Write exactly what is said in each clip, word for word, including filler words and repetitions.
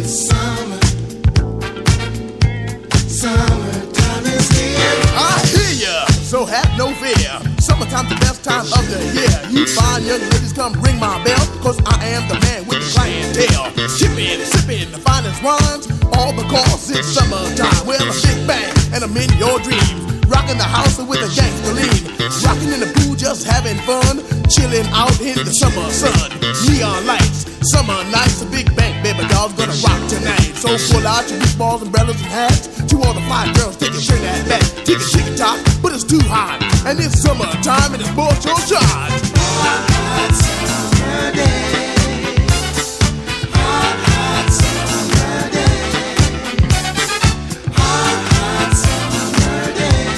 it's summer. Summertime is here. I hear ya, so have no fear. Summertime's the best time of the year. You fine young ladies, come ring my bell, cause I am the man with the clientele. Chippin', sippin', the finest wines, all because it's summertime. Well, a big bang, and I'm in your dreams. Rockin' the house with a gangster lean. Rockin' in the pool, just having fun. Chillin' out in the summer sun. Neon lights, summer nights. A big bang, baby doll's gonna rock tonight. So pull out your beach balls, umbrellas, and hats. To all the fine girls, take a string at back. Take a chicken top, but it's too hot. And it's summertime and it's both your shot. Hot, hot summer day. Hot, hot summer day. Hot, hot summer day.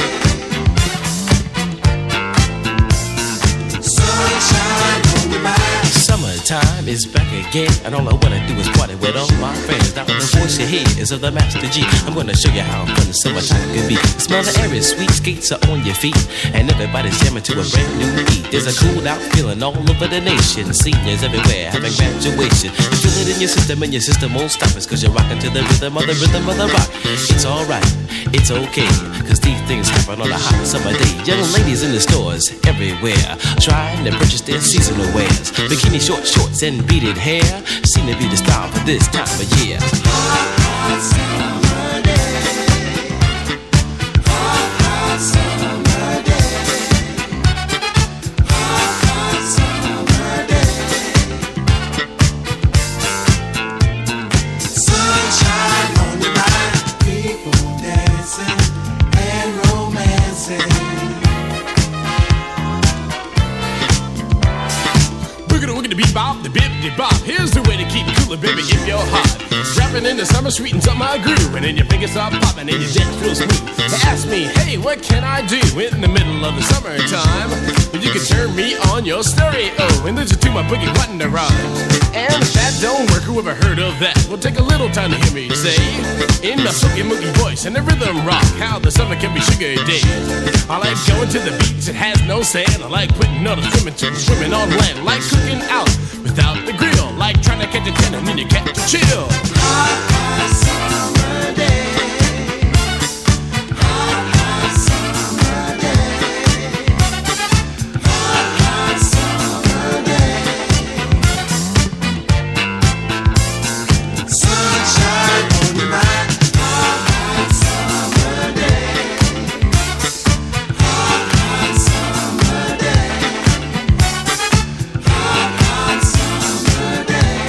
Sunshine on your mind. Summertime is back again, and all I wanna do is party with all my friends. Now the voice you hear is of the Master G. I'm gonna show you how fun the summertime can be. The smell of the air is sweet, skates are on your feet, and everybody's jamming to a brand new beat. There's a cool out feeling all over the nation. Seniors everywhere having graduation. You feel it in your system, and your system won't stop us, cause you're rocking to the rhythm of the rhythm of the rock. It's alright, it's okay, cause these things happen on a hot summer day. Young ladies in the stores everywhere, trying to purchase their seasonal wares. Bikini short shorts and beaded hair seem to be the style for this time of year. Hot, hot summer day. Hot, hot summer day. Hot, hot summer day. Sunshine on your mind. People dancing and romancing. Wiggity wiggity bebop, the bippity bop. Here's the way to keep cooler, baby, if you're hot. Rapping in the summer, sweetens up my groove, and then your fingers start popping and your dance real smooth. They ask me, hey, what can I do in the middle of the summertime? Well, you can turn me on your stereo and listen to my boogie button to rhyme. And if that don't work, who ever heard of that? Well, take a little time to hear me say, in my silky moogie voice and the rhythm rock, how the summer can be sugar days. I like going to the beach, it has no sand. I like putting on a swimming suit, swimming on land. Like cooking out without the grill, like trying to catch a ten and then you catch a chill. Hot, hot summer day. Hot, hot summer day. Hot, hot summer day. Sunshine on your mind. Hot, hot summer day. Hot, hot summer day. Hot, hot summer day.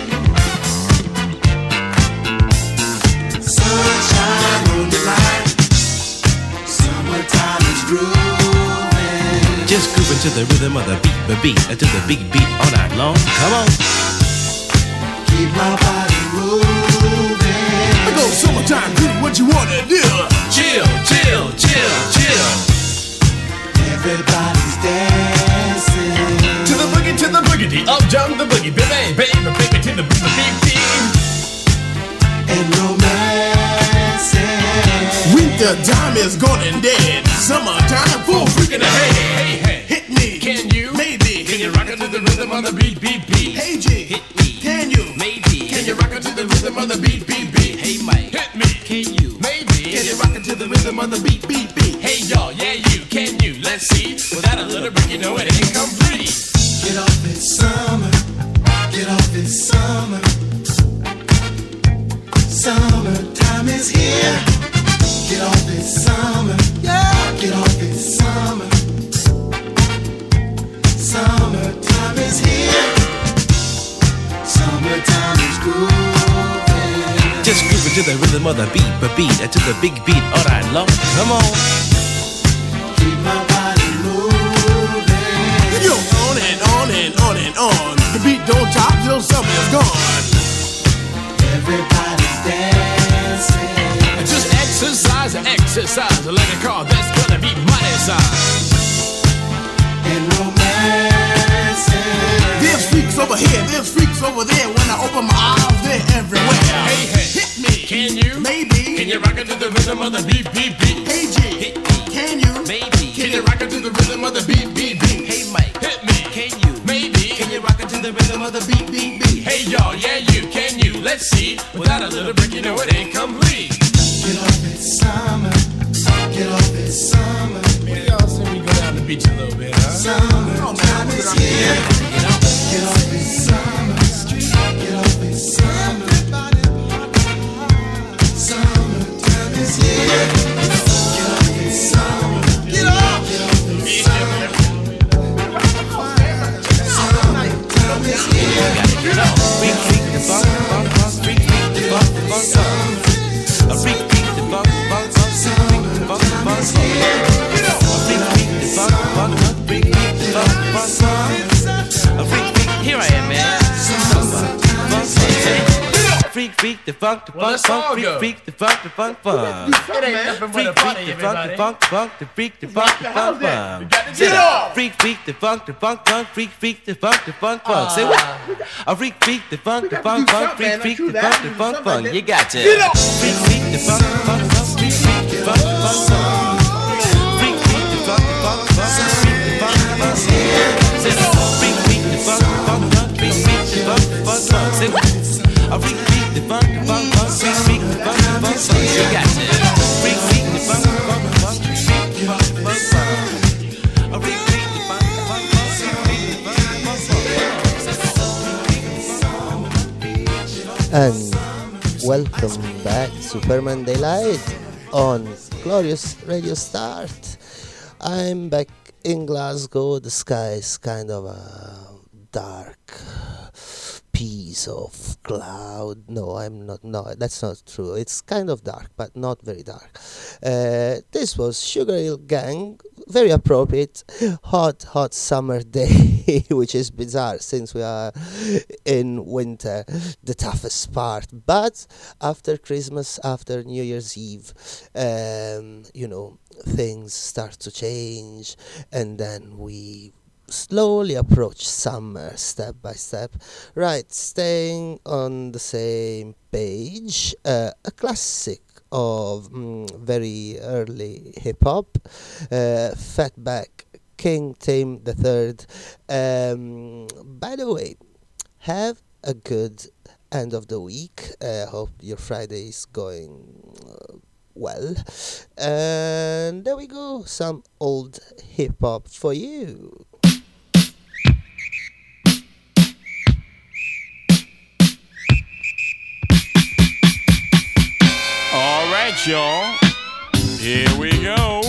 Sunshine on your mind. Summertime is grooving. Just grooving to the rhythm of the beat, the beat, to the big beat all night long. Come on. Keep my body moving. I go summertime, do what you wanna do. Chill, chill, chill, chill. Everybody's dancing. To the boogie, to the boogity, up jump the boogie, baby, baby, baby, to the beat, beat, beat. And romancing. Winter time is gone and dead. Summertime, full freaking ahead. Hey, hey, Hit me, can you? maybe. Can you rock it to the rhythm of the beat, beat, beat? Hey G, Hit me, can you? maybe. Can you rock it to the rhythm of the beat, beat, beat? Hey, Mike, Hit me, can you? maybe. Can you rock it to the rhythm of the beat, beat, beat? Hey, y'all, yeah, you, can you? Let's see. Without a little break, you know it ain't complete. Get off it's summer. Get off it's summer. Summertime is here. Get off it's summer. Yeah. Get off it's summer. Summertime is here. Summertime is grooving. Just grooving to the rhythm of the beat, but beat, to the big beat all night long. Come on. Keep my body moving. Yo, on and on and on and on. The beat don't stop till summer is gone. Everybody's dancing. Just exercise and exercise like a car that's gonna be money size. And romancing. There's freaks over here, there's freaks over there. When I open my eyes, they're everywhere. Hey, hey, hit me, can you? Maybe. Can you rock it to the rhythm of the beat, beat, beat? Hey G, Hit me, can you? maybe. Can you rock it to the rhythm of the beat, beat, beat? Hey, Mike, Hit me, can you? maybe. Can you rock it to the rhythm of the beat, beat, beat? Hey y'all, yeah you, can you? Let's let's see. Without a little break, you know it ain't complete. Get off it, summer. Get off it, summer. Maybe y'all see me go down the beach a little bit, huh? Summer time is here. Get off it, summer. Get off it, summer. Summer time is here. Get off it, summer. Get off. Get off it, summer. Summer time is here. Get off. Freak, freak the funk, funk, funk, freak, freak the funk, funk, funk. A freak, freak the funk, funk, funk, freak, freak the funk, funk, funk. A freak, freak the funk, funk, funk, freak, freak the funk, funk, funk. A freak, freak. Here I am, man. Funk, funk, funk. Freak, freak the funk, the Well, funk, let's all funk, freak, go. freak the funk, the funk, funk. It ain't nothing but Freak, a freak party, the funk, the everybody. funk, funk, the freak, the funk, the funk, You funk. got to Say get that. off. Freak, freak the funk, the funk, funk, freak, freak the funk, the funk, funk. Say what? A freak, freak the funk, the funk, funk, freak, freak the funk, the funk, funk. You got to. Freak, freak the funk, the funk, funk, freak, freak the funk, the funk, funk. Freak, freak the funk, the funk, funk, freak the funk, the funk, funk. Say that. Freak, freak the funk, the funk, funk, freak, freak the funk, the funk, funk. Say what? A freak, freak the funk, the funk, funk, freak, freak the funk, the funk, funk. You got to. Freak, freak the funk, the funk, funk, freak, freak the funk, the funk, funk. A freak, freak the funk, the funk, funk, freak, freak the funk, the funk, funk. And welcome back to Permanent Daylight on Glorious Radio Start. I'm back in Glasgow. The sky is kind of a dark piece of cloud. No, I'm not. No, that's not true. It's kind of dark, but not very dark. Uh, this was Sugar Hill Gang. Very appropriate. Hot, hot summer day, which is bizarre since we are in winter, the toughest part. But after Christmas, after New Year's Eve, um, you know, things start to change, and then we slowly approach summer step by step. Right, staying on the same page, uh, a classic of mm, very early hip-hop, uh, Fatback, King Tim the Third. Um, by the way, have a good end of the week. I uh, hope your Friday is going uh, well. And there we go, some old hip-hop for you. All right, y'all. Here we go.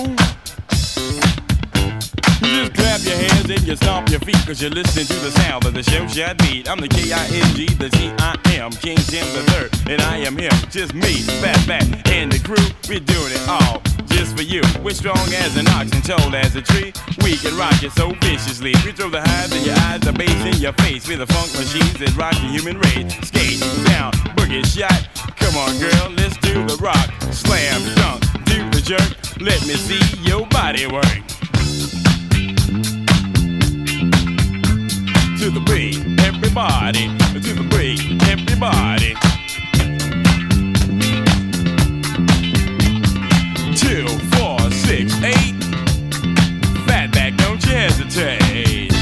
You just clap your hands and you stomp your feet, cause you're listening to the sound of the show shot beat. I'm the K I N G, the T I M, King Tim the Third, and I am him, just me, Fatback, and the crew. We're doing it all just for you. We're strong as an ox and tall as a tree. We can rock it so viciously. We throw the highs in your eyes, the bass in your face. We're the funk machines that rock the human race. Skate down, boogie shot. Come on, girl, let's do the rock. Slam, dunk, do the jerk. Let me see your body work. To the beat, everybody. To the beat, everybody. Two, four, six, eight. Fatback, don't you hesitate.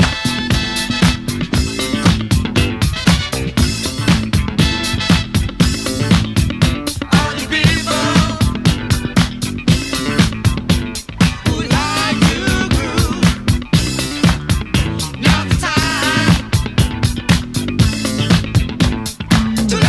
All you people who like to groove, now's the time to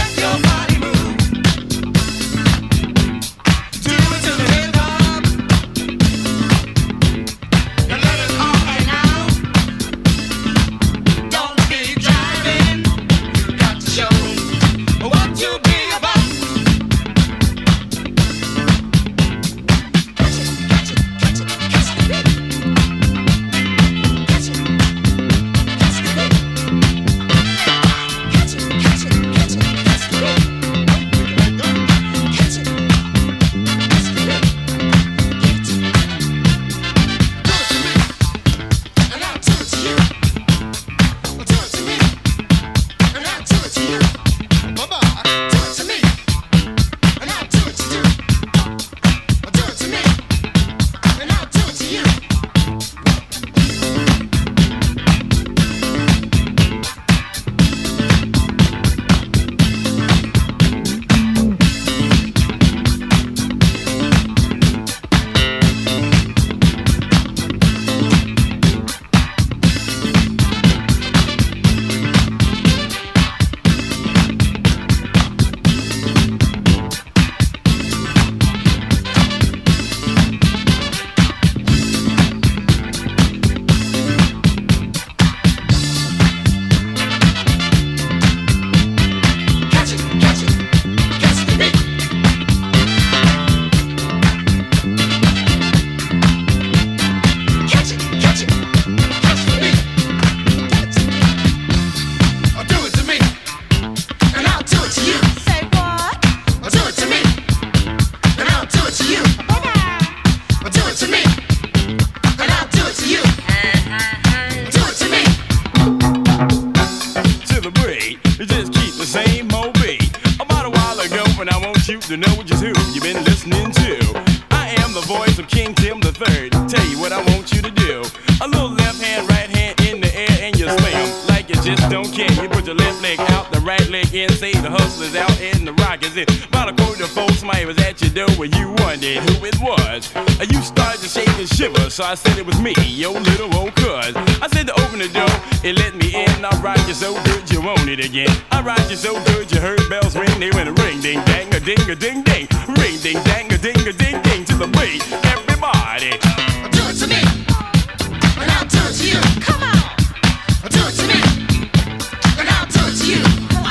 you to know just who you've been listening to. I am the voice of King Tim the Third. Tell you what I want you to do. A little left hand, right hand in the air, and you slam like you just don't care. You put your left leg out, the right leg in. Say the hustler's out and the rock is in. About a quarter of folks, somebody was at your door when you wondered who it was. You started to shake and shiver, so I said it was me, your little old cuz. I said to open the door, it let me in. I rocked you so good you want it again. I rocked you so good you heard bells ring. They went a ring, ding, dang, a ding, a ding, ding. Ring, ding, dang, a ding, a ding, ding. To the beat, everybody. Do it to me, and I'll do it to you. Come on. Do it to me, and I'll do it to you.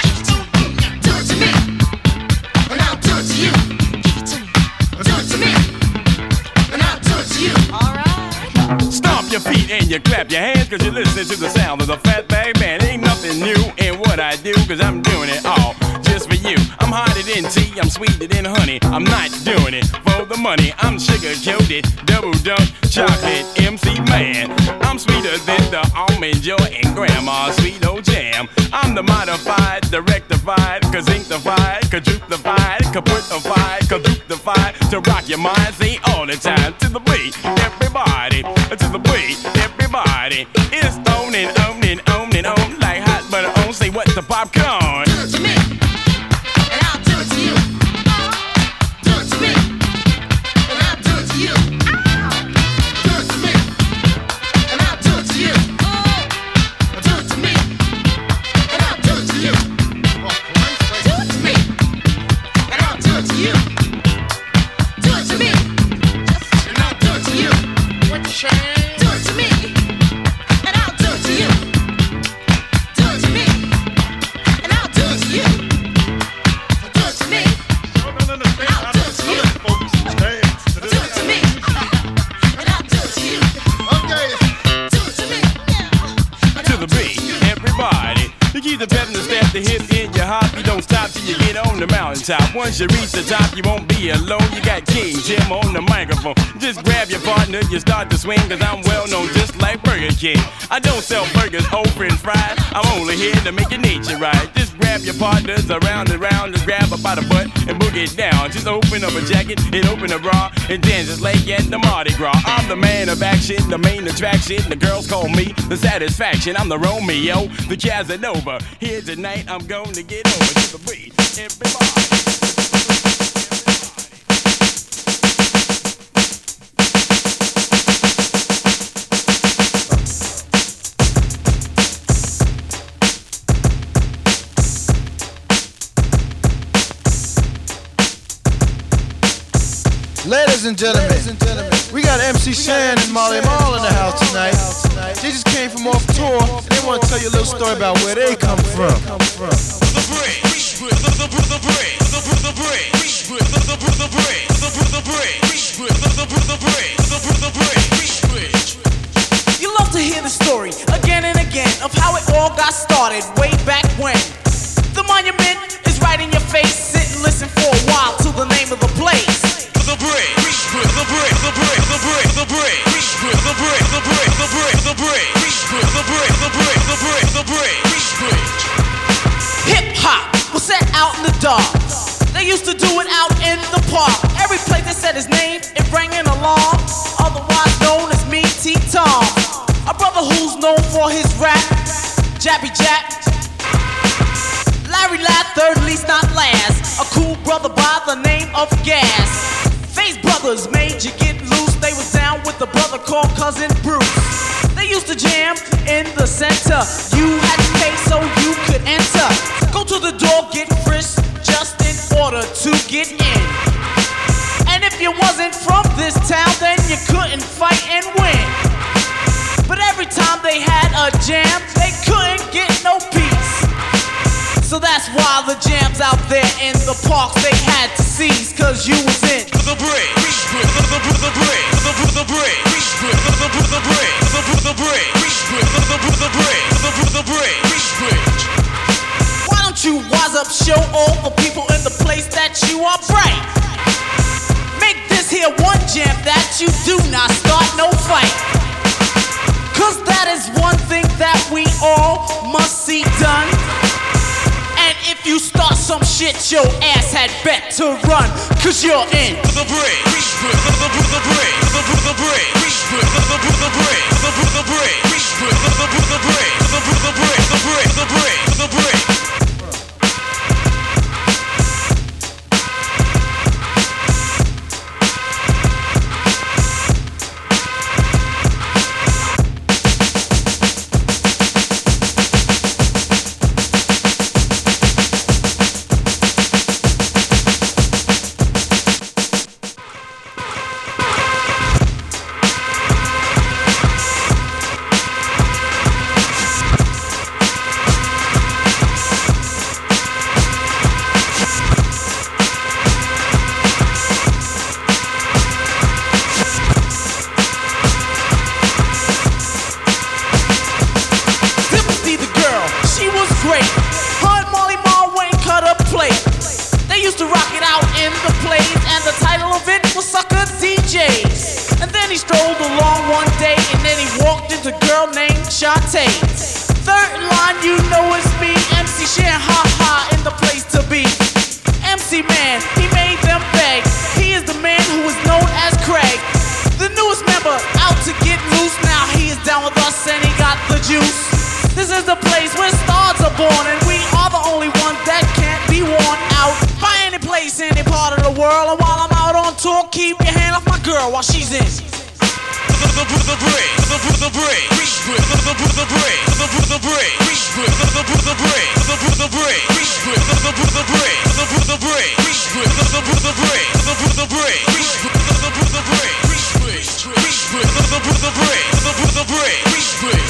Do it to me, and I'll do it to you. Do it to me, and I'll do it to you. All right. Stomp your feet and you clap your hands, cause you listen to the sound of the Fatback Band. Ain't nothing new in what I do, cause I'm doing it all just for you. I'm hotter than tea, I'm sweeter than honey. I'm not doing it for the money. I'm sugar coated, double dunk, chocolate M C man. I'm sweeter than the almond joy and grandma's sweet old jam. I'm the modified, the rectified, kazinctified, quadruplified, kaputified, kaduptified. To rock your mind, say all the time. To the beat, everybody. To the beat, everybody. It's on and on and on and on like hot butter on. Say what's the popcorn? Do it to me, and I'll do it to you. Do it to me, and I'll do it to you. Do it to me, and I'll do it to you. Do it to me, and I'll do it to you. Do it to me, and I'll do it to you. Do it to me, and I'll do it to you. What you saying? Do it to me, and I'll do it to you. Do it to me, and I'll do it to you. Do it to me, and I'll do it to you. Do it to me, and I'll do it to you. Do it to me, and To I'll the do it beat, to you. everybody. You keep the pep and the step, the hip in your hop. You don't stop till you get on the mountaintop. Once you reach the top, you won't be alone. You got King Tim on the microphone. Just grab your partner, you start to swing, cause I'm well known just like Burger King. I don't sell burgers, old french fries. I'm only here to make your nature right. Just grab your partners around and around, just grab her by the butt and boogie it down. Just open up a jacket and open a bra and dance just like at the Mardi Gras. I'm the man of action, the main attraction. The girls call me the satisfaction. I'm the Romeo, the Casanova. Here tonight, I'm going to get over to the beat. Everybody. Ladies and gentlemen, Ladies and gentlemen, we got M C Shan and Molly Mall in the house tonight. They just came from off tour and they want to tell you a little story about where they come from. The break, the break, the break, the break, the break, the break, the break, the break, the break, the break, the break. You love to hear the story again and again of how it all got started way back when. The monument is right in your face. Sit and listen for a while to the name of the place. The break, the break, the break, the break, the break, the break, the break, the break, the break, the break, the break, the break, the break, the break. Hip hop was set out in the dark. They used to do it out in the park. Every place they said his name, it rang an alarm. Otherwise known as me, T-Tom. A brother who's known for his rap, Jappy Jap. Larry Ladd, third least not last. A cool brother by the name of Gas. Face Brothers made you get loose. They was down with the brother called Cousin Bruce. They used to jam in the center. You had to pay so you could enter. Go to the door, get frisked just in order to get in. And if you wasn't from this town, then you couldn't fight and win. But every time they had a jam, they couldn't get no peace. So that's why the jams out there in the parks they had to seize, cause you was in The break, the break, the break, the break, the break, the break, the break, the break, the break, the break. Why don't you wise up, show all the people in the place that you are bright. Make this here one jam that you do not start no fight. Cause that is one thing that we all must see done. And if you start some shit, your ass had bet to run, cause you're in the break. The break. The break. The break. The break. The break. The break. The break. The break. The break. The break. The break. The break. Third line, you know it's me, M C Shan, ha ha, in the place to be. M C Man, he made them beg. He is the man who is known as Craig, the newest member out to get loose. Now he is down with us and he got the juice. This is the place where stars are born, and we are the only ones that can't be worn out by any place, any part of the world. And while I'm out on tour, keep your hand off my girl while she's in. The break, the break, the break, the break, the break, the break, the break, the break, the break, the break, the break, the break, the break, the break, the break, the break.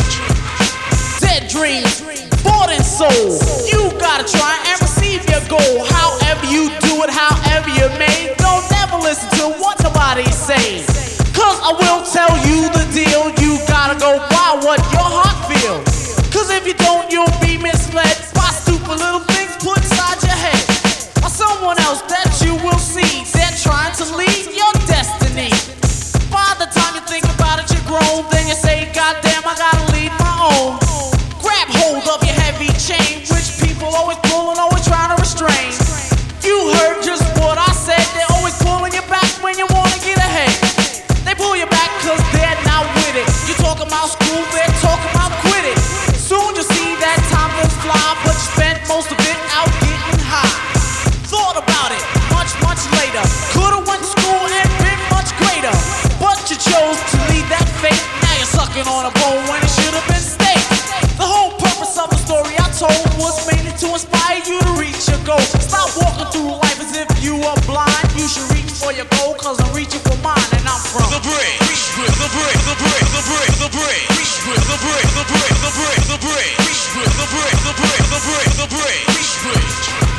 Dead dreams, bought and sold. You gotta try and receive your goal. However you do it, however you may. Don't never listen to what nobody says, cause I will tell you the deal. You gotta go by what your heart feels, cause if you don't, you'll be misled by stupid little things put inside your head, or someone else that you will see. They're trying to lead your destiny. By the time you think about it, you're grown. Then you say, goddamn, I gotta lead my own. Grab hold of your heavy chain, which people always pull and always trying to restrain. You heard just what I said. They're always pulling you back when you wanna get ahead. They pull you back cause they're not with it. You talking about school, they're talking about quit it. Soon you'll see that time will fly, but you spent most of it out getting high. Thought about it much, much later. Could've went to school and been much greater, but you chose to lead that fate. Now you're sucking on a bone when it should've been steak. The whole purpose of the story I told was mainly to inspire you to reach your goal. Stop walking through life as if you are blind. You should reach for your goal, cause I'm reaching for mine, and I'm from the break, the break, the break, the break, the break, the break, the break, the break, the break, the break, the break, the break, the break, the break.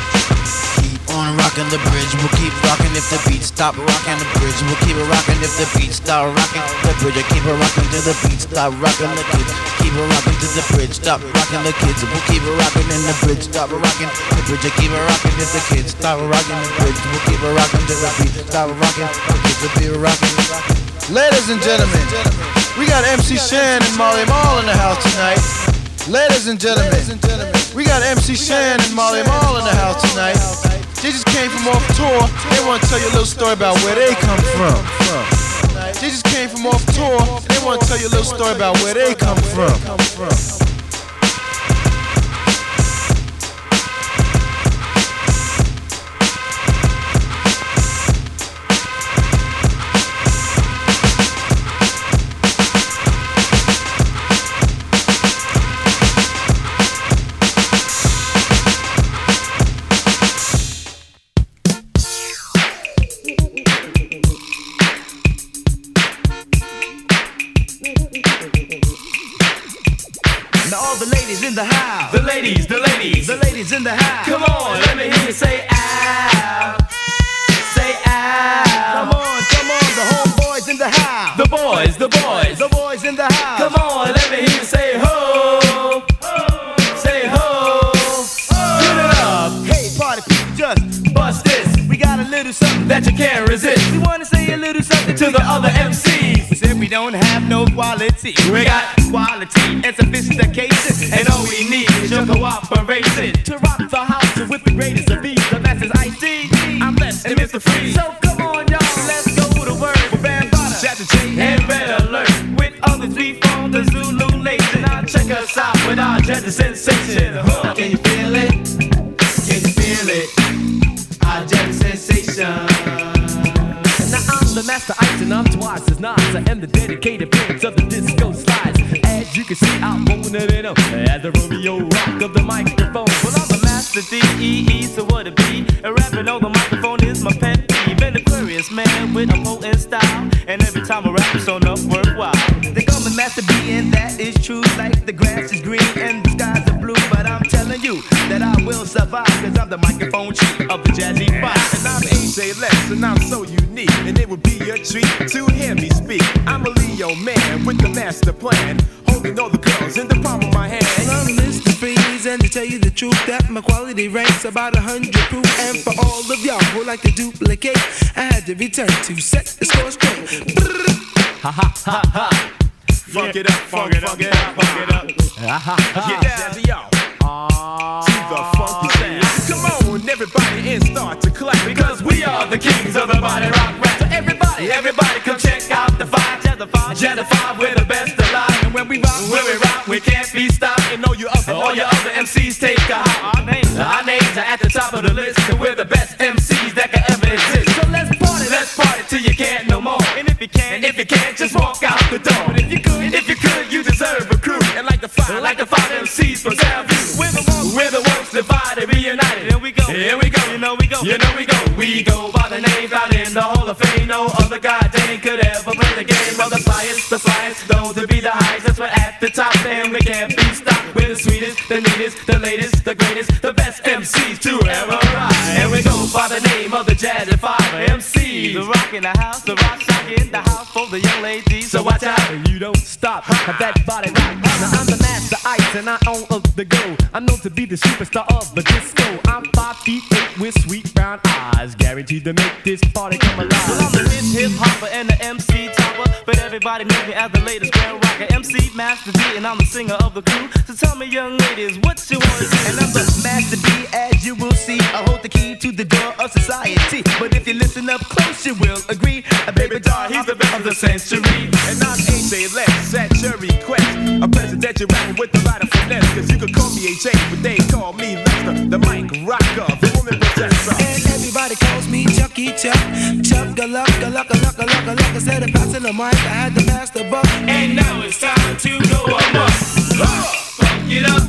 Keep on rocking the bridge, we'll keep rocking if the beat stop rocking the bridge. We'll keep it rocking if the beat stop rocking the bridge. I keep it rocking till the beat stop rocking the kids. Keep it rocking to the bridge, stop rocking the kids. We'll keep it rocking in the bridge, stop rocking the bridge. I keep it rocking if the kids stop rocking the bridge. We'll keep it rocking till the beat stop rocking the kids. We'll keep it rocking. Ladies and gentlemen, we got M C Shan and Molly Mall in the house tonight. Ladies and gentlemen, we got M C Shan and Molly Mall in the house tonight. They just came from off tour. They want to tell you a little story about where they come from. They just came from off tour. They want to tell you a little story about where they come from. In the house. The ladies, the ladies, the ladies in the house. Come on, let me hear you say ow. Say ow. Come on, come on, the homeboys in the house. The boys, the boys, the boys in the house. Come on, let me hear you say ho. Say ho. Get it up. Hey, party people, just bust this. We got a little something that you can't resist. We wanna say a little something to the other M Cs. We said we don't have no quality. We got quality and sophistication, and all we need is your cooperation to rock the house with the greatest of these. The masters I C. I'm Les and Mister Freeze. So come on, y'all, let's go to work with Bambaataa, Chapter J, and Red Alert. With others, we form the Zulu Nation. Now check us out with our Jazzy Sensation. Huh. Can you feel it? Can you feel it? Our Jazzy Sensation. Now I'm the master ice and I'm twice as nice. I am the dedicated prince of the disco slides. As you can see, I'm rolling it up as the Romeo rock of the microphone. Well, I'm the master D E E, so what it be? And rapping on the microphone is my pet peeve. An Aquarius man with a potent style, and every time I rap, it's on up worthwhile. They call me Master B, and that is true. Like the grass is green and the skies are blue, but I'm telling you that I will survive, cause I'm the microphone chief of the Jazzy Five. And I'm A J Les, and I'm so unique, and it would be a treat to hear me speak. I'm a Leo man with the master plan, holding all the girls in the palm of my hand. And I'm Mister Freeze, and to tell you the truth, that my quality ranks about a hundred proof. And for all of y'all who like to duplicate, I had to return to set the score straight. Ha ha ha ha. Funk it up, funk it up, funk it up, funk it up. Ha ha ha. Yeah, Jazzy, y'all. To the funky sound. Come on, everybody, and start to clap, because we are the kings of the body rock rap. So everybody, everybody, come check out the five, Jazzy Five, Jazzy Five, we're the best alive. And when we rock, when we rock, we can't be stopped. and all you other, all your other M Cs take a hop. Our names, our names are at the top of the list, and we're the best M Cs that can ever exist. So let's party, let's party till you can't no more. And if you can't, and if you can't, just walk out the door. But if you could, if you could, you deserve a crew. And like the five, like the five M Cs from Soundview, we're the ones, we're the ones divided, reunited. Here we go, here we go, you know we go, you know we go. We go by the names out in the Hall of Fame. No other goddamn could ever play the game of the flyest, the flyest, those to be the highest. That's what at the top, and we can't be stopped. We're the sweetest, the neatest, the latest, the greatest, the best M Cs to ever rise. And we go by the name of the Jazzy Five M Cs. The rock in the house, the rock shock in the house for the young ladies. So watch out, you don't stop. Have that body rock. Now I'm the master ice and I own of the go. I'm known to be the superstar of the disco. I'm five feet eight with sweet brown eyes, guaranteed to make this party come alive. Well, I'm the hip hip hopper and the M C topper, but everybody knows me as the latest grand rocker, M C Master D, and I'm the singer of the crew. So tell me, young ladies, what you want to do? And I'm the Master D, as you will see. I hold the key to the door of society, but if you listen up close, you will agree. A baby doll, he's the best of the century. And I'm A J Les, at your request, a presidential rapping with a lot of finesse. Cause you could call me A J, but they call me Lester, the mic rocker, the woman possessor. And everybody calls me Chucky Chuck, Chuck a luck, a luck, a luck, a luck, a luck. Instead of passing the mic, I had to pass the buck. And now it's time to go amok. Funk it up.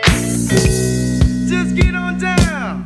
Just get on down.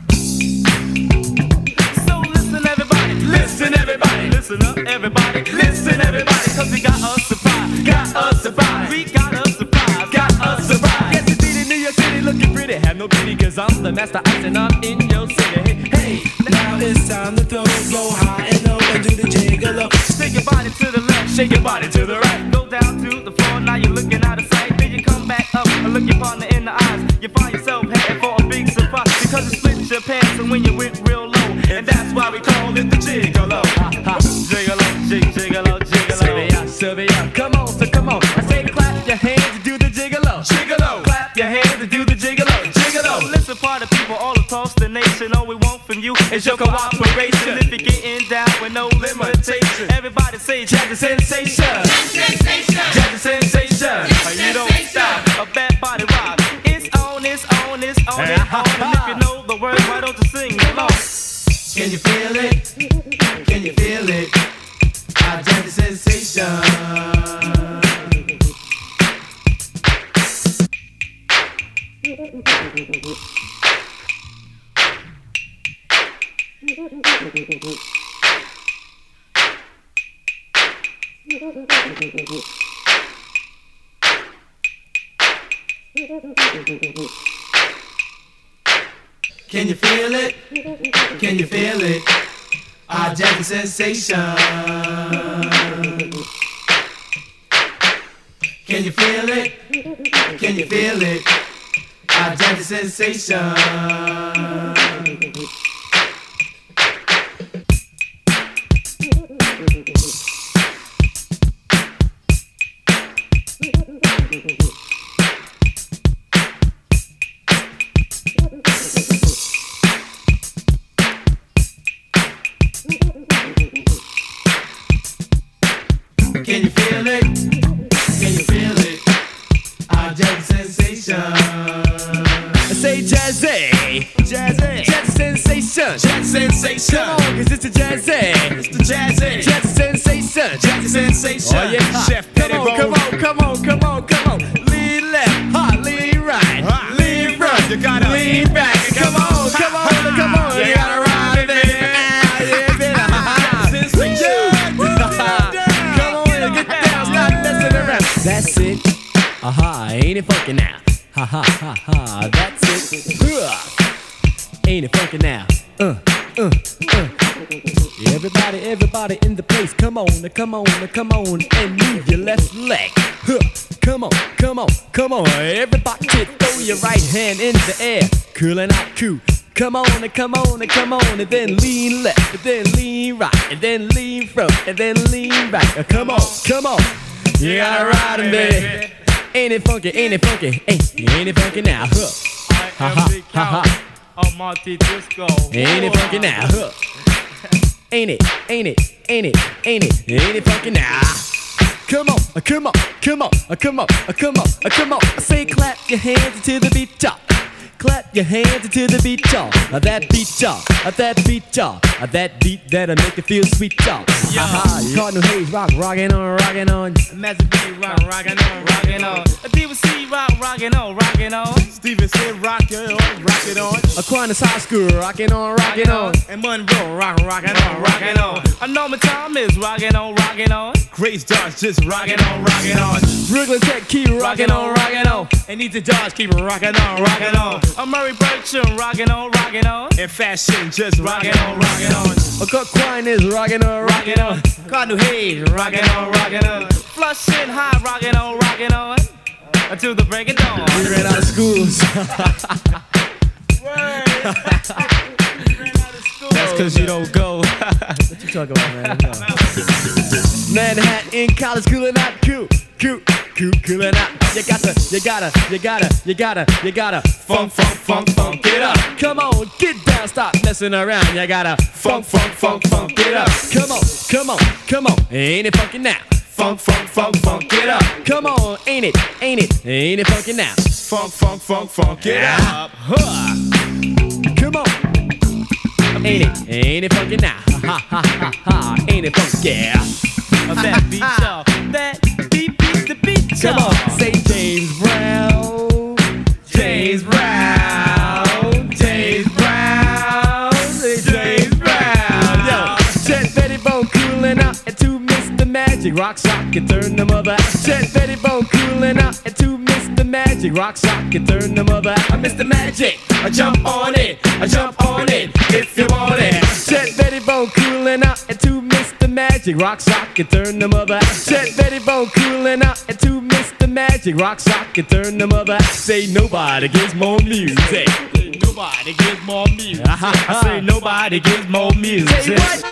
So listen everybody, listen everybody, listen up everybody, listen everybody, cause we got a surprise, got a surprise, we got a surprise, got a surprise. Yes, indeed, in New York City looking pretty, have no pity, cause I'm the master ice and I'm in your city. Hey, hey, now it's time to throw, go high and low and do the jiggle. Shake your body to the left, shake your body to the right. Go down to the floor, now you're looking out of sight. Then you come back up and look your partner in the eyes. You find yourself heading for a big surprise, because it split your pants and when you went real low. And that's why we call it the gigolo. Gigolo, jig, gigolo, gigolo. Sylvia, Sylvia, come on, so come on. I say clap your hands and do the gigolo. Gigolo, clap your hands and do the gigolo. Gigolo. Listen, party people all across the nation, all we want from you is your cooperation. If you're getting down with no limitation, everybody say Jazzy Sensation. Jazzy Sensation. You don't stop a bad body rock. It's on, it's on, it's on, it's on. And if you know the words, why don't you sing along? Can you feel it? Can you feel it? Our Jazzy Sensation. Can you feel it? Can you feel it? Our Jazzy Sensation. Can you feel it? Can you feel it? Our Jazzy Sensation. sensation. Come on, cause it's the jazzy. It's the jazzy. Jazzy sensation. Jazzy sensation. Oh yeah, Chef come on, Pettibone. come on, come on, come on, come on. Lean left, hot, lean right, Hot. lean front, You gotta lean back. Come on, come on, come on, you gotta ride it there. Yeah, baby. Sensation. Come on, get down, stop messing around. That's it. Aha, ain't it funky now? Ha ha ha ha, that's it. Huh. Ain't it funky now? Uh, uh, uh. Everybody, everybody in the place, come on, come on, come on, and move your left leg. Huh. Come on, come on, come on, everybody, throw your right hand in the air, coolin' out cool. Come on, and come on, and come on, and then lean left, and then lean right, and then lean front, and then lean back. Uh, come on, come on, you gotta ride 'em, baby. Ain't it funky, ain't it funky, ain't, ain't it funky now, huh? Ha ha ha ha. Oh, Monte Disco. Ain't it funky now, huh? Ain't it, ain't it, ain't it, ain't it, ain't it funky now? Come on, uh, come on, come on, uh, come on, uh, come on, uh, come on. I say clap your hands to the beat, y'all. Clap your hands to the beat, y'all. Uh, that beat, y'all. Uh, that beat, y'all. Uh, that beat that'll make you feel sweet, y'all. Yo. Uh-huh. Cardinal Hayes rock, rockin' on, rockin' on. Master B rock, rockin' on, rockin' on. D V C rock, rockin' on, rockin' on. Stevenson rockin' on, rockin' on. Aquinas High School rockin' on, rockin' on. And Monroe rock, rockin' on, rockin' on. I know my time is rockin' on, rockin' on. Grace Dodge just rockin' on, rockin' on. Brooklyn Tech keep rockin' on, rockin' on. And Easy Dodge keep rockin' on, rockin' on. I'm Murray Bertram rockin' on, rockin' on. And Fashion just rockin' on, rockin' on. Aquinas rockin' on, rockin' on. Cardinal Hayes rockin' on, rockin' on. Flushing High rockin' on, rockin' on. Until the break of dawn. We ran out of schools. That's cause you don't go. What you talking about, man? No. Manhattan College coolin' out, cool, cool, cool, coolin' out. You gotta, you gotta, you gotta, you gotta, you gotta funk, funk, funk, funk, get up. Come on, get down, stop messing around. You gotta funk, funk, funk, funk, get up. Come on, come on, come on, ain't it funky now? Funk, funk, funk, funk, get up. Come on, ain't it, ain't it, ain't it funky now? Funk, funk, funk, funk, get up. Huh. Come on. Ain't it, ain't it funky now? Ha ha ha ha, ain't it funky? Yeah. That beat y'all, that beat beat the beat y'all. Come on, say James Brown, James Brown, James Brown, say James Brown. Yo, Chet Pettibone coolin' out and to Mister Magic, rock sock and turn the mother out. Chet Pettibone coolin' out and to Mister Magic, rock sock and turn the mother out. Mister Magic, I jump on it, I jump on it if you want it. Chet Pettibone coolin' out and to Mister Magic, rock sock and turn the mother out. Chet Pettibone coolin' out and to Mister Magic, rock sock and turn the mother out. Say nobody gives more music. Nobody gives more music. I say nobody gives more music. Say what?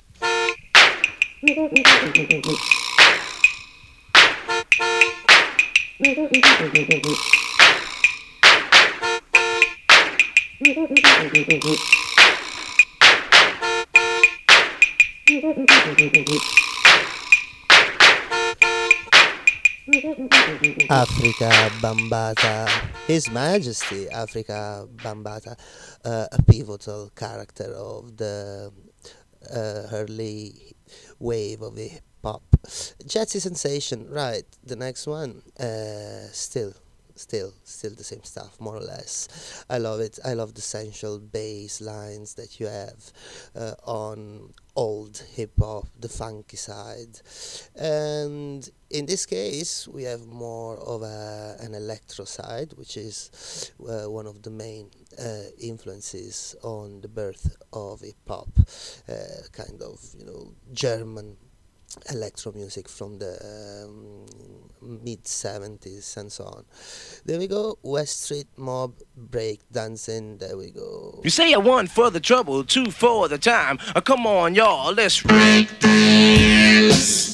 Africa Bambaataa, His Majesty Africa Bambaataa, uh, a pivotal character of the uh, early wave of hip hop. Jazzy Sensation, right? The next one, uh, still, still, still the same stuff, more or less. I love it. I love the sensual bass lines that you have uh, on old hip hop, the funky side, and in this case we have more of a, an electro side, which is uh, one of the main uh, influences on the birth of hip hop, uh, kind of, you know, German electro music from the um, mid seventies and so on. There we go, West Street Mob break dancing. There we go. You say a one for the trouble, two for the time. Uh, come on, y'all, let's break dance.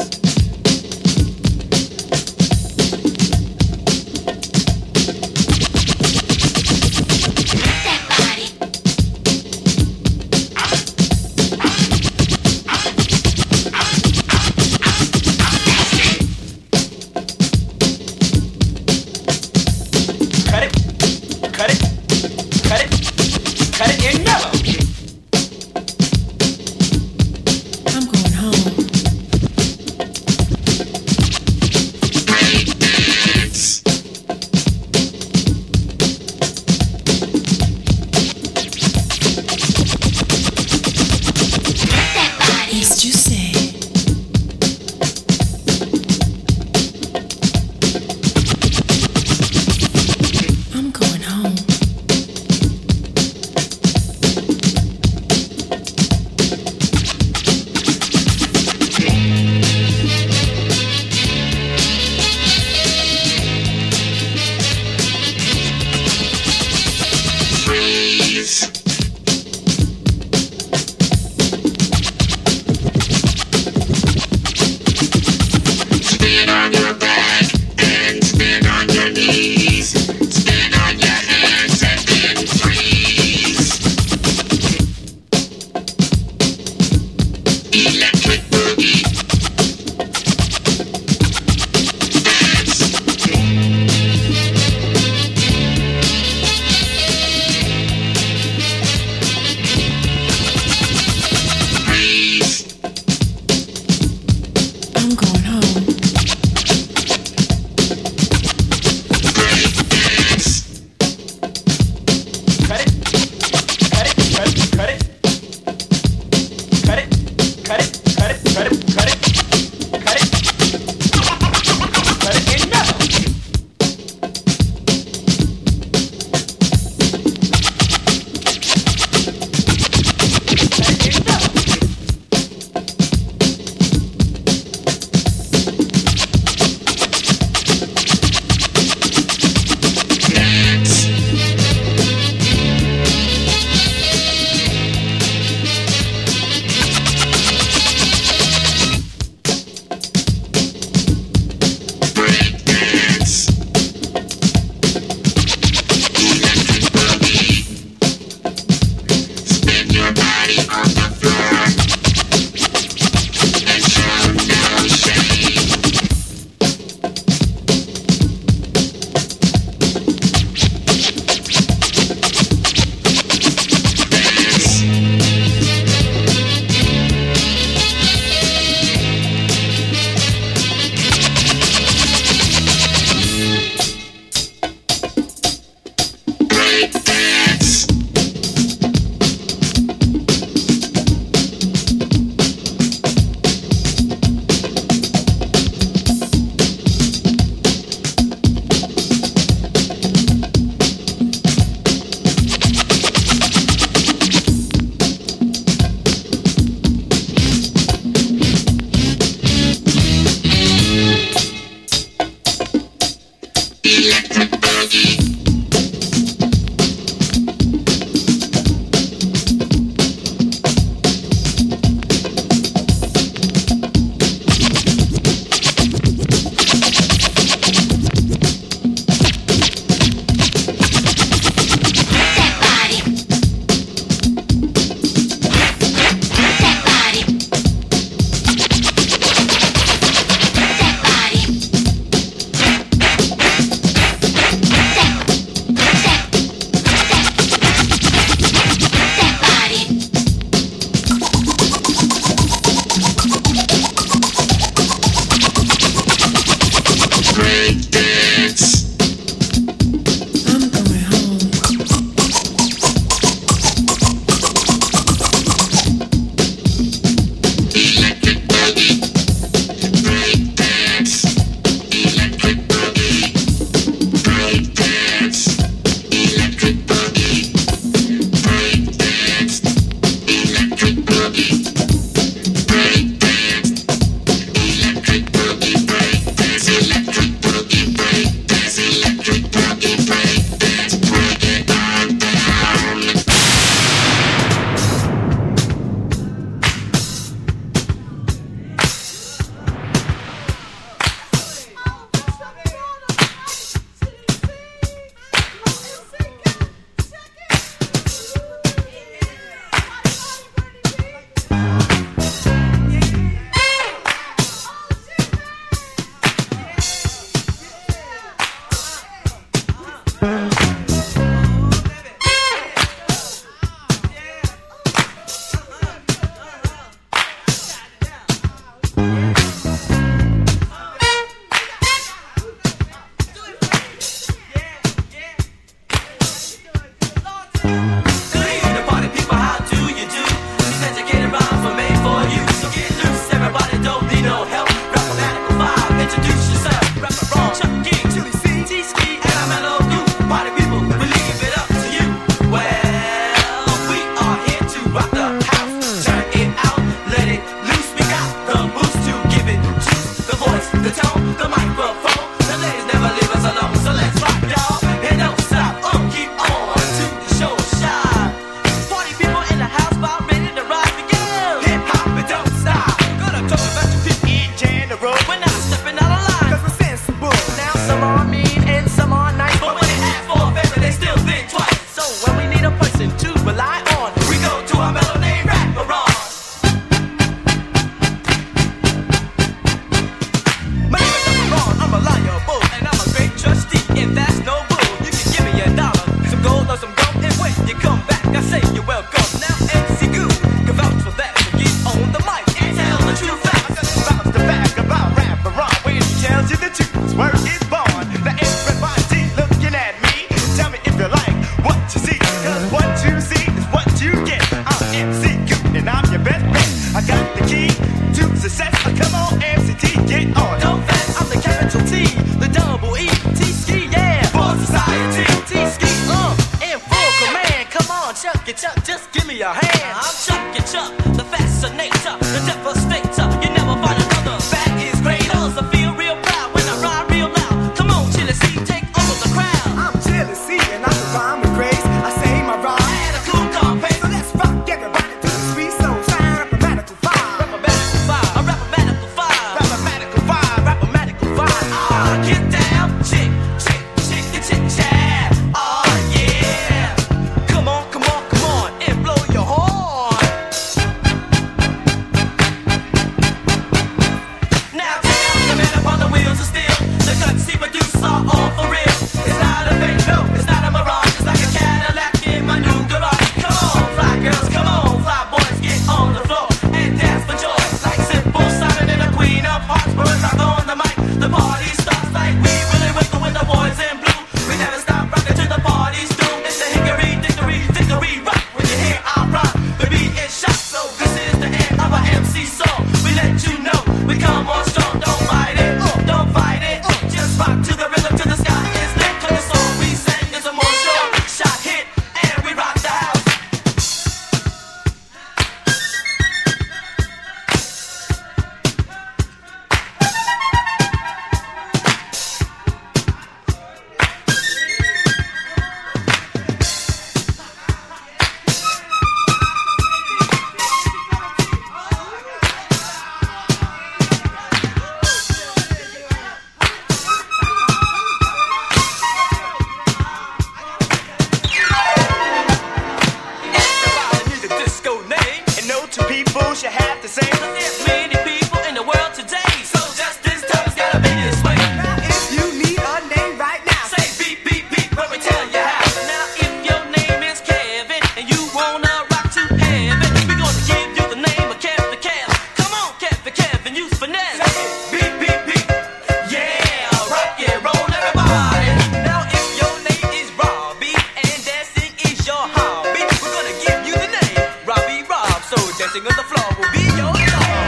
don't you have to say? There's many people in the world today, so just this time it's gotta be this way. Now if you need a name right now, Say beep, beep, beep, let me tell you how. Now if your name is Kevin and you wanna rock to heaven, we gonna give you the name of Kevin Kev. Come on, Kevin Kevin, use finesse. beep, beep, beep. Yeah, rock and roll everybody. Now if your name is Robbie and dancing is your hobby, we're gonna give you the name Robbie Rob. So dancing on the floor will be your job.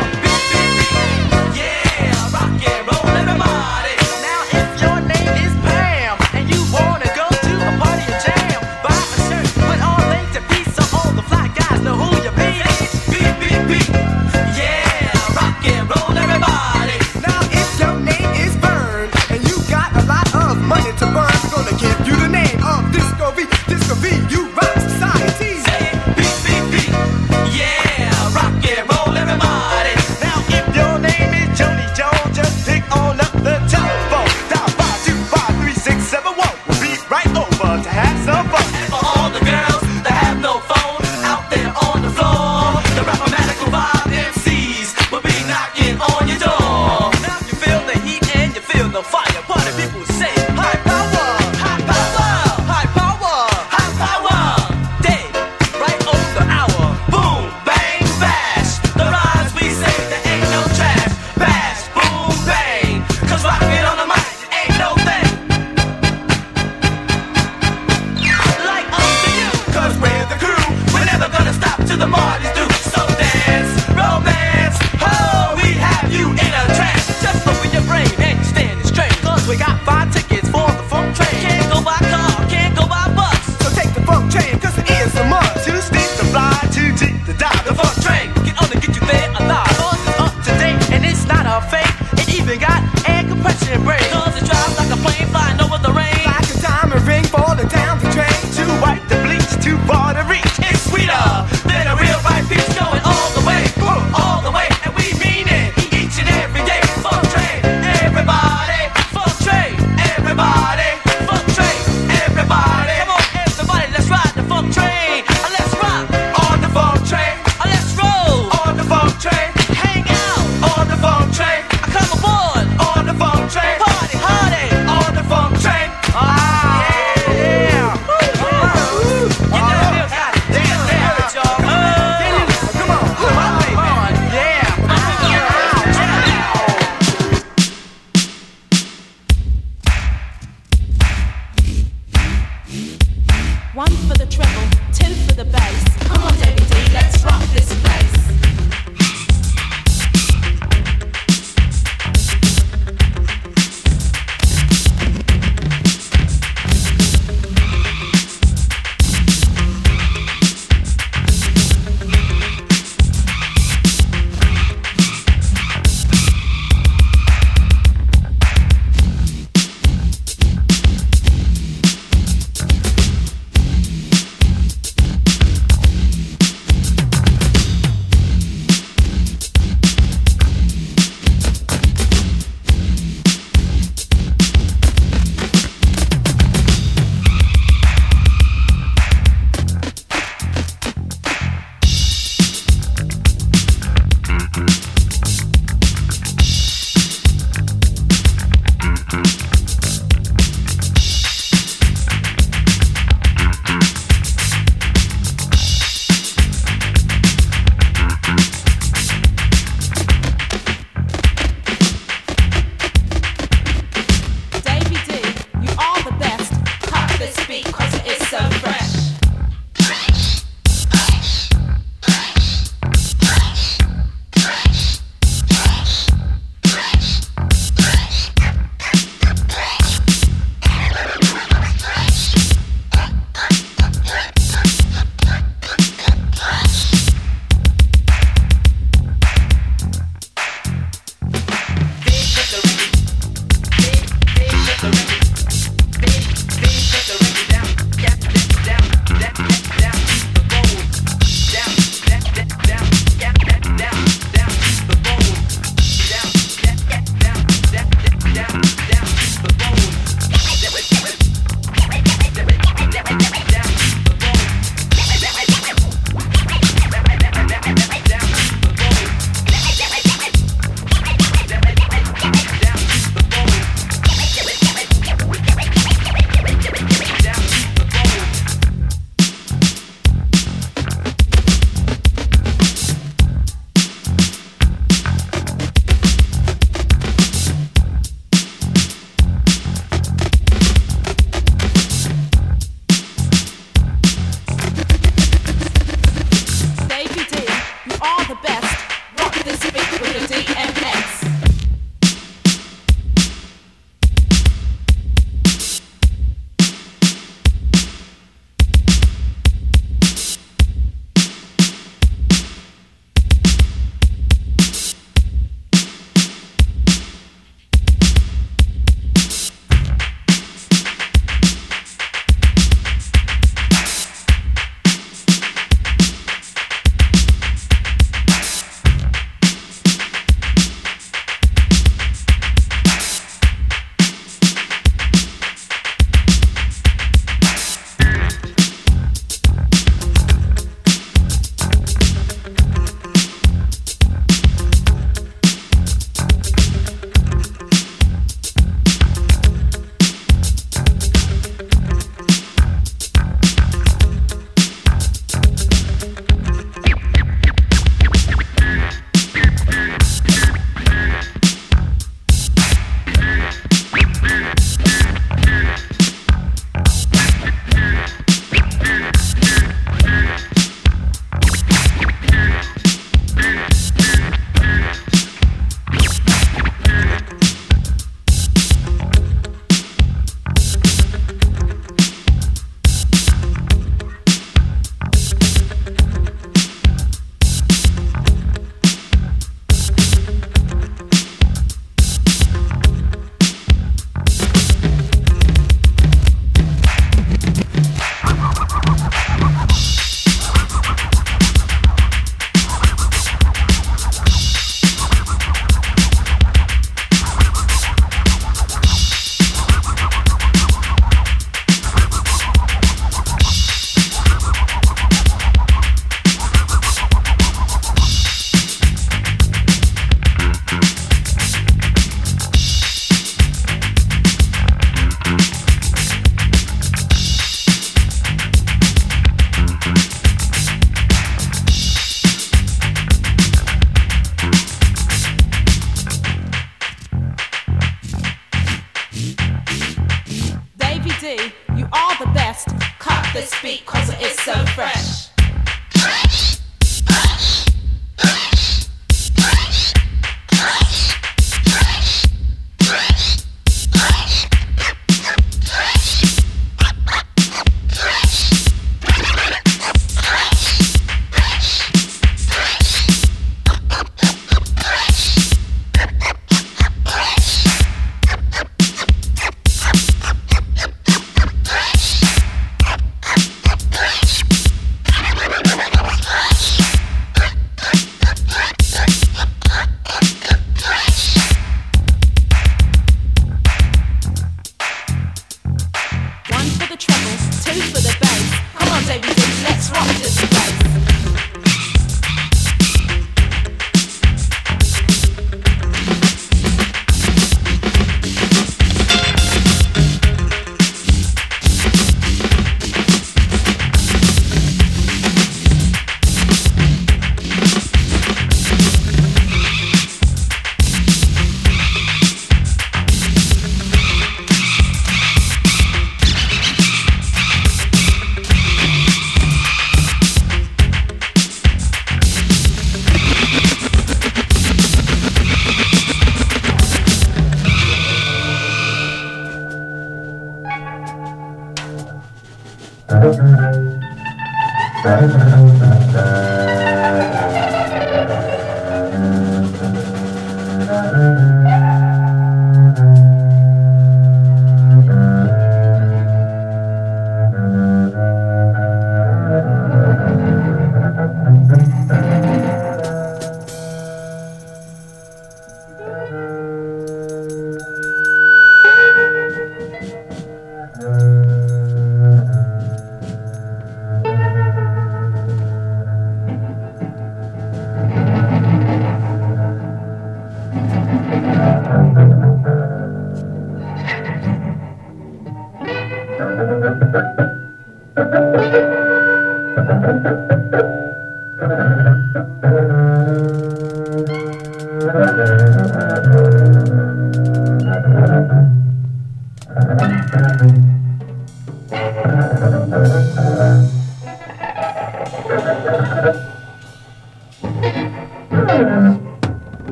love this beat cause it's so fresh.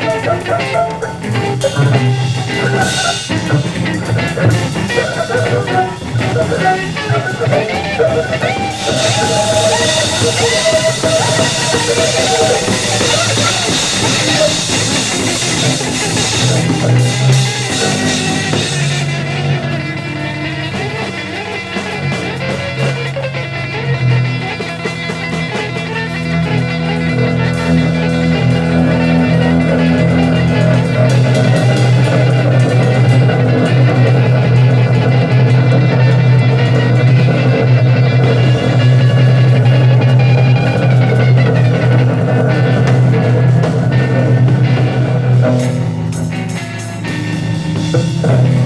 Thank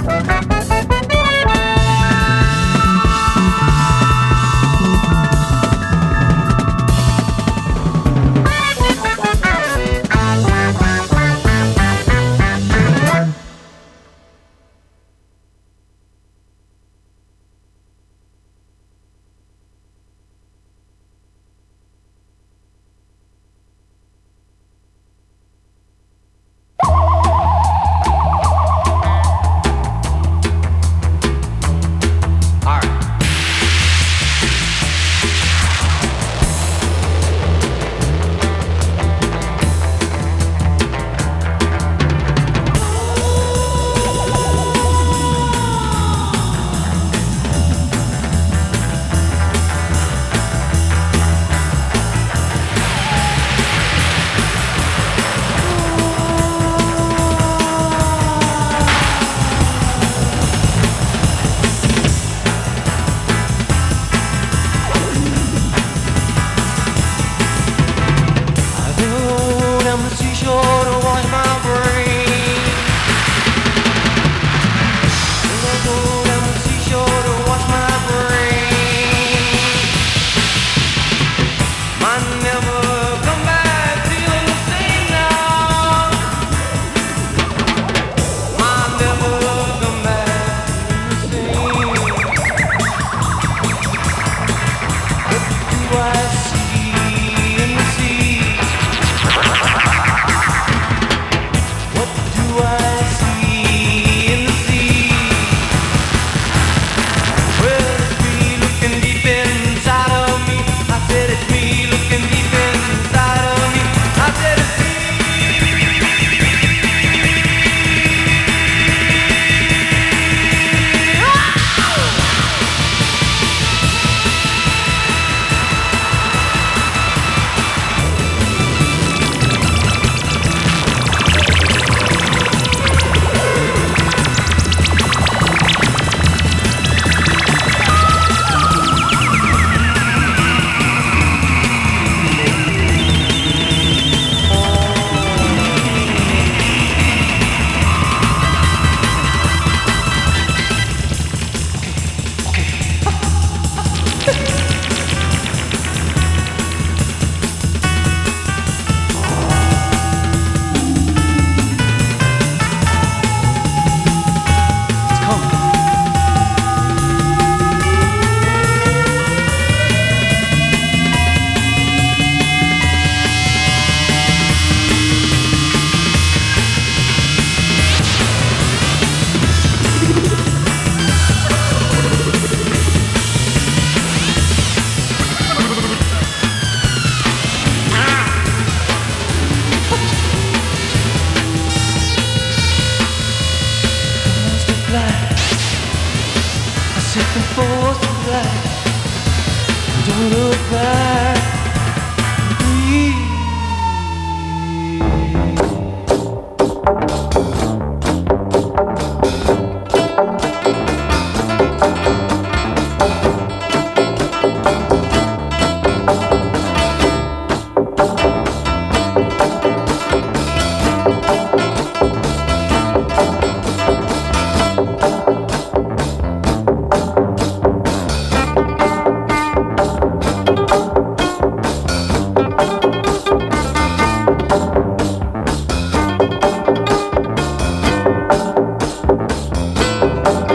Thank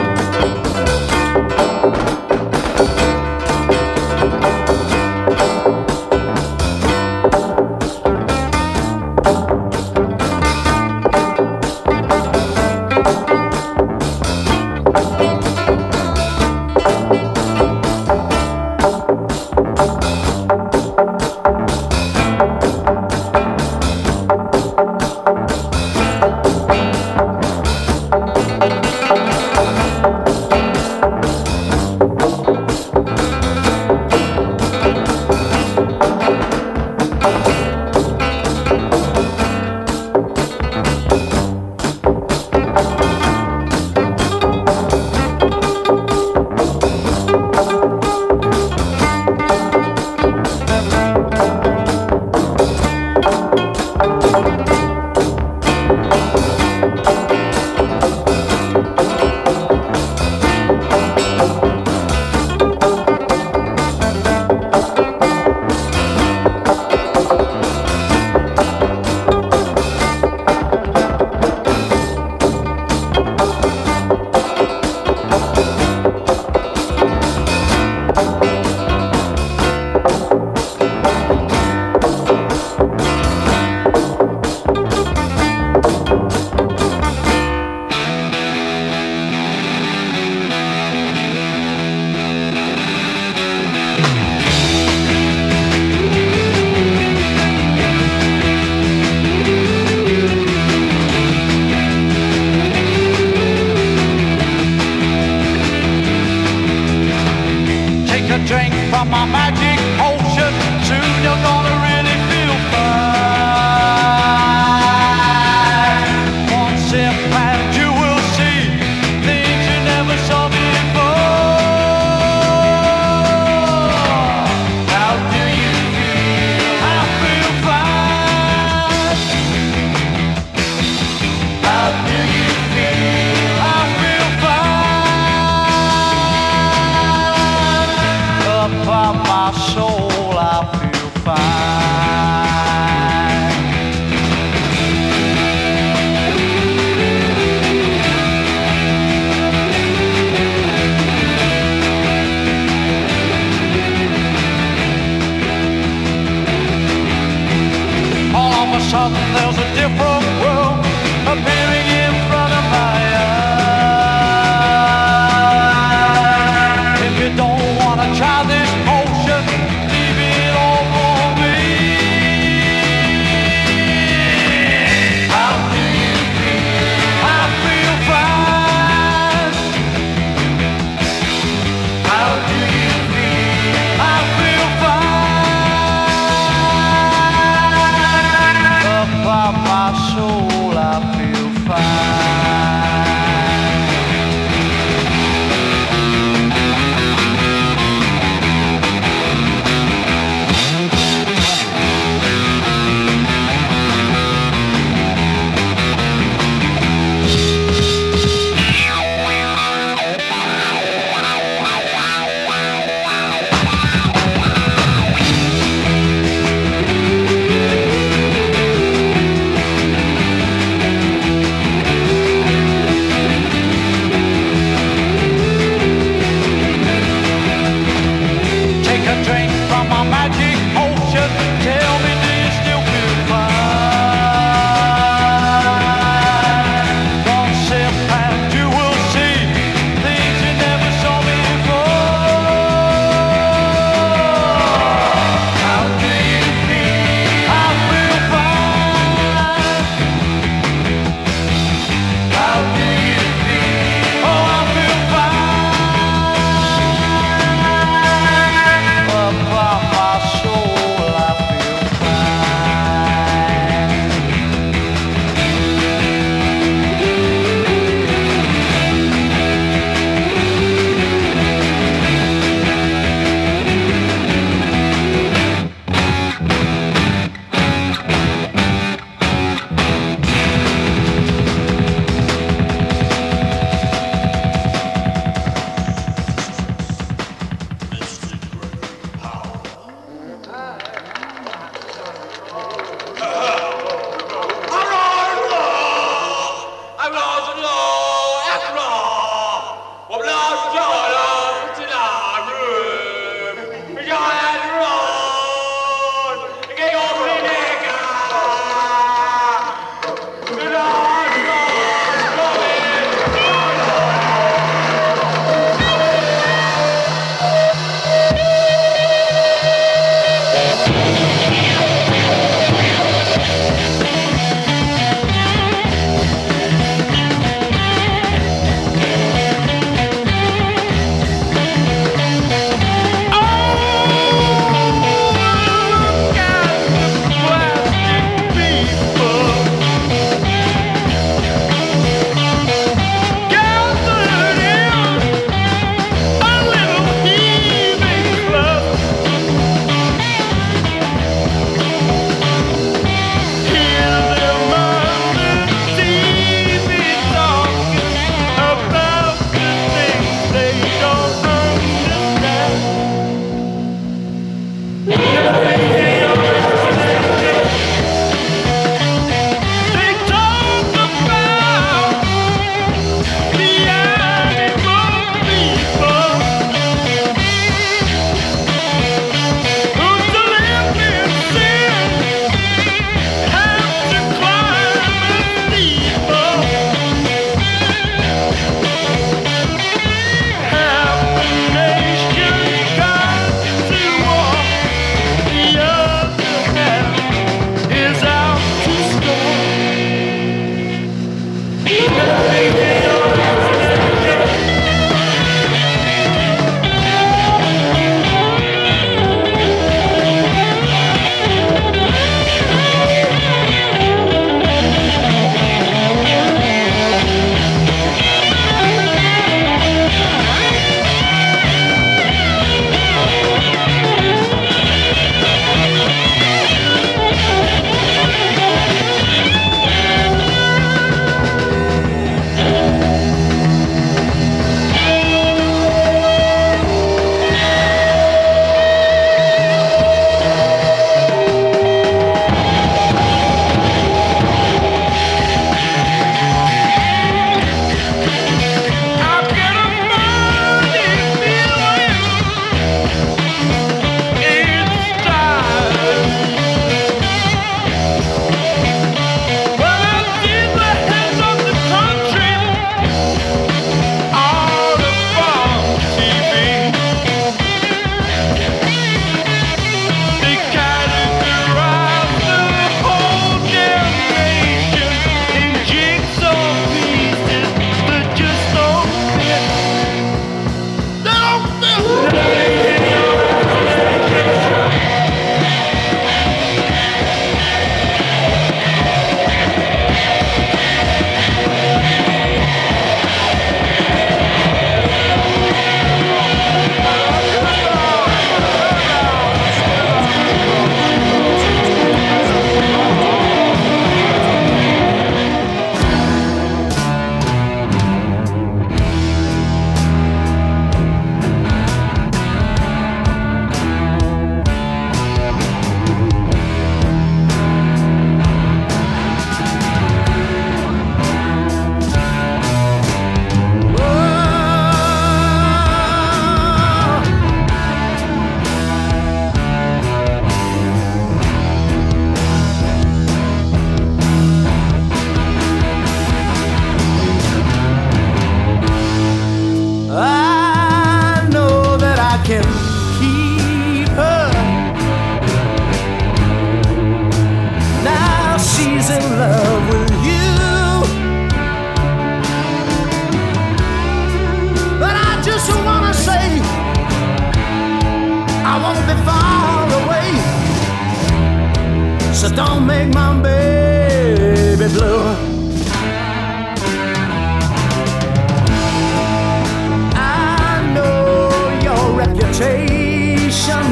my magic potion. Soon you're gonna really feel fine. One sip and you will see things you never saw before. How do you feel? I feel fine. How do you feel? I feel fine. Up on my soul, I feel fine. don't make my baby blue. I know your reputation.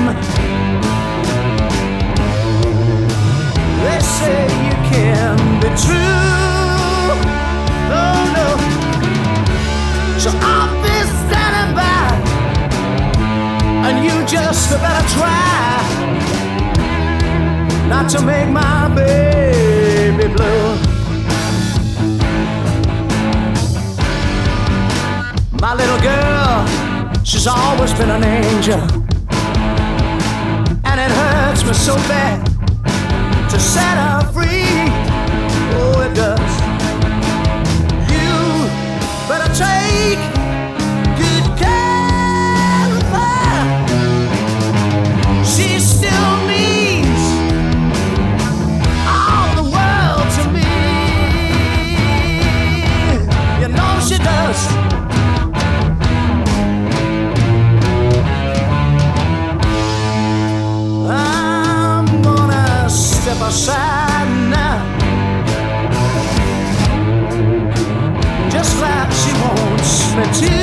They say you can be true. Oh no. So I'll be standing by, and you just better try not to make my baby blue. My little girl, she's always been an angel, and it hurts me so bad to set her free. Oh, it does. You better take good care of her. She still means all the world to me. You know she does. I'm gonna step aside now, just like she wants me to.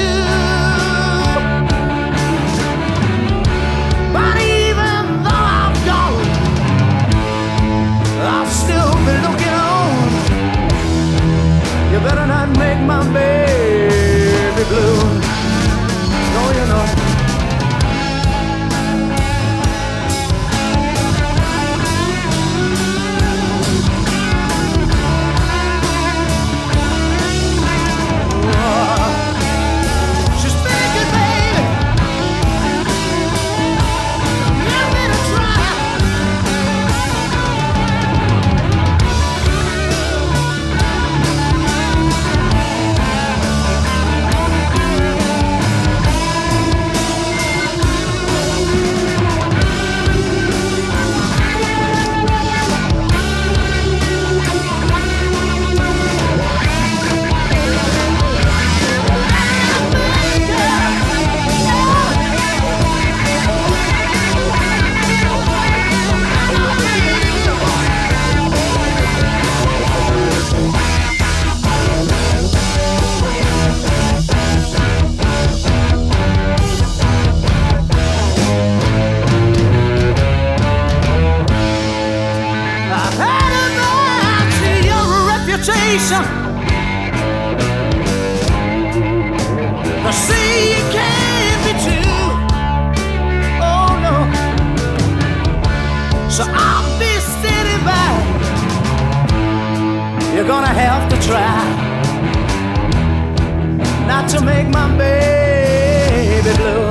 But even though I'm gone, I'll still be looking on. You better not make my baby blue. No, you know. I see you can't be true. Oh no. So I'll be standing by. You're gonna have to try not to make my baby blue.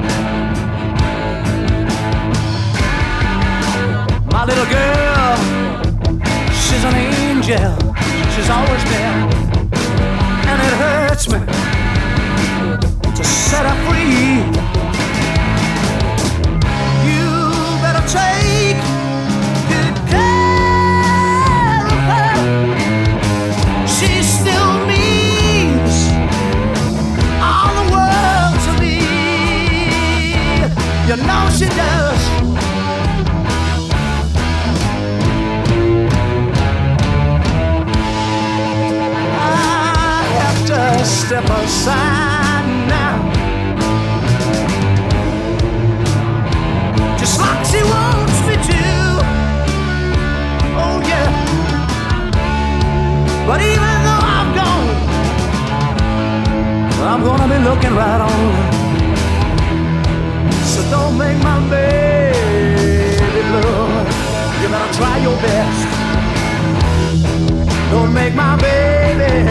My little girl, she's an angel. She's always been, and it hurts me to set her free. You better take good care of her. She still means all the world to me. You know she does. Step aside now, just like she wants me to. Oh yeah. But even though I'm gone, I'm gonna be looking right on her. So don't make my baby blue. You better try your best. Don't make my baby.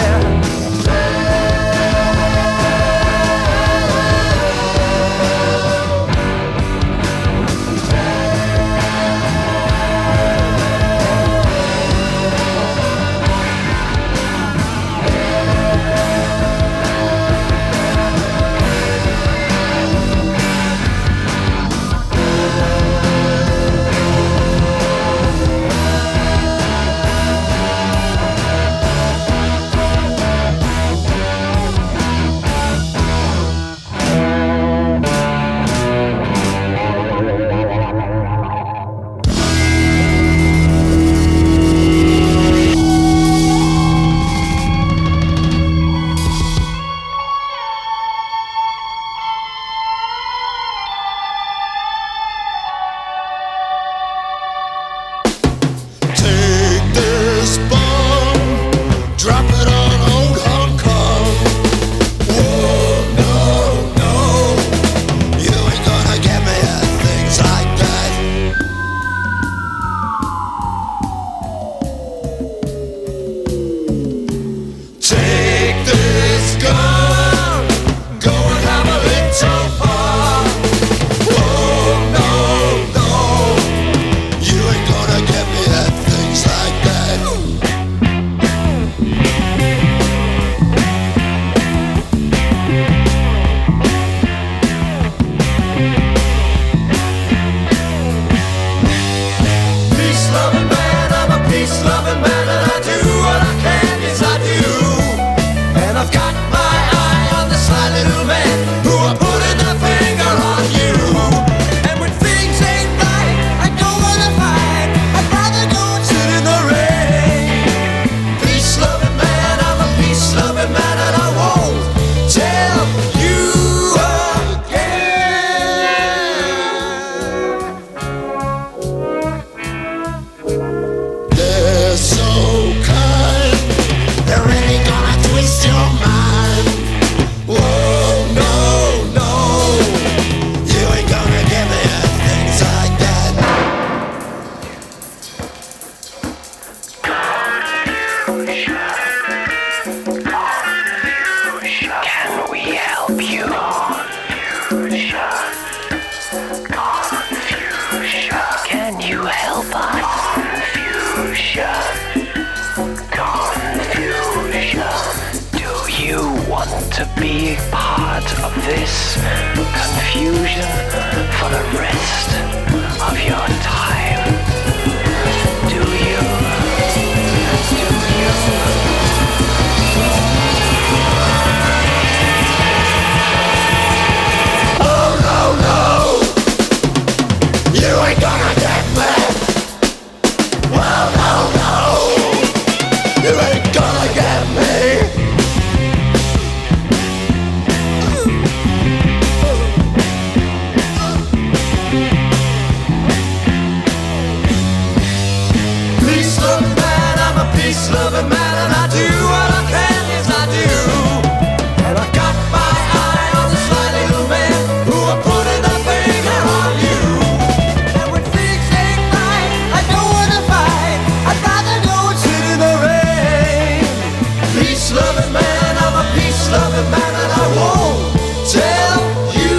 we help you? Confusion. Confusion. Can you help us? Confusion. Confusion. Do you want to be part of this confusion for the rest of your time? Do you? Do you? Oh no, no, you ain't gonna get me. Well, no, no, you ain't gonna get me. Peace-loving man, I'm a peace-loving man, and I do what I can, yes I do. And I got my eye on the sly little man who are putting a finger on you. And when things ain't right, I don't wanna fight. I'd rather go and sit in the rain. Peace-loving man, I'm a peace-loving man, and I won't tell you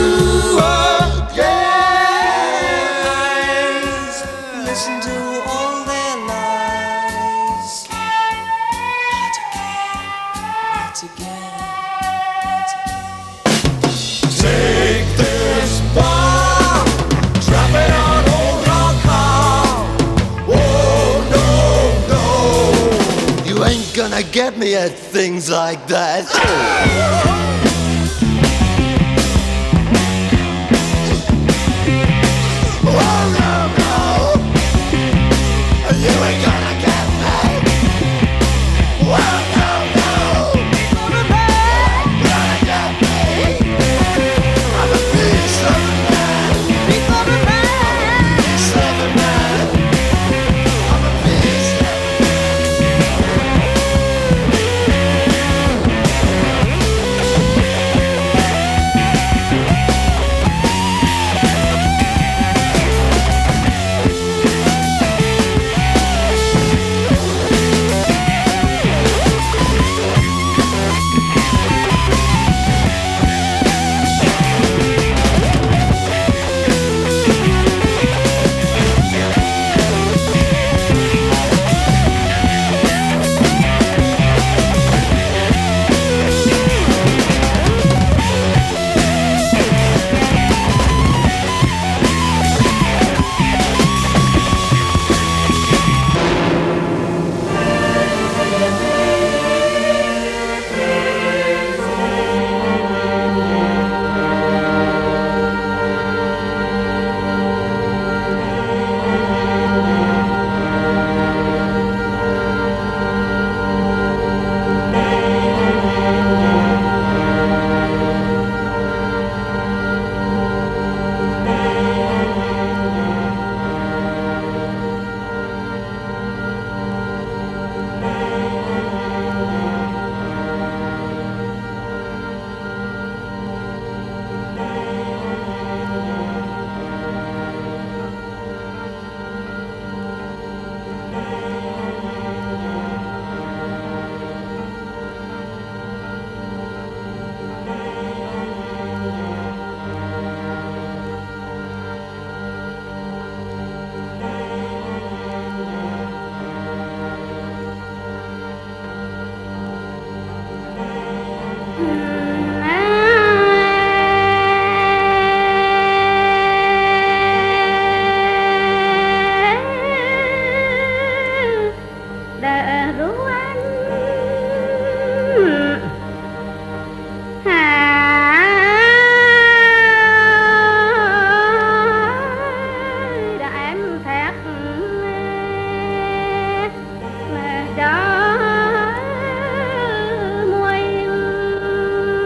again. Listen to all their lies. Not again, not again, not again. Take this bomb, drop it on old rock hall. Oh no, no, you ain't gonna get me at things like that. Oh no, no, you ain't gonna get me. Oh no, no, gonna get me. I'm a peace-loving man. Peace-loving man. Peace-loving man. I'm a peace-loving đã ru anh hà đã em thét mà đó môi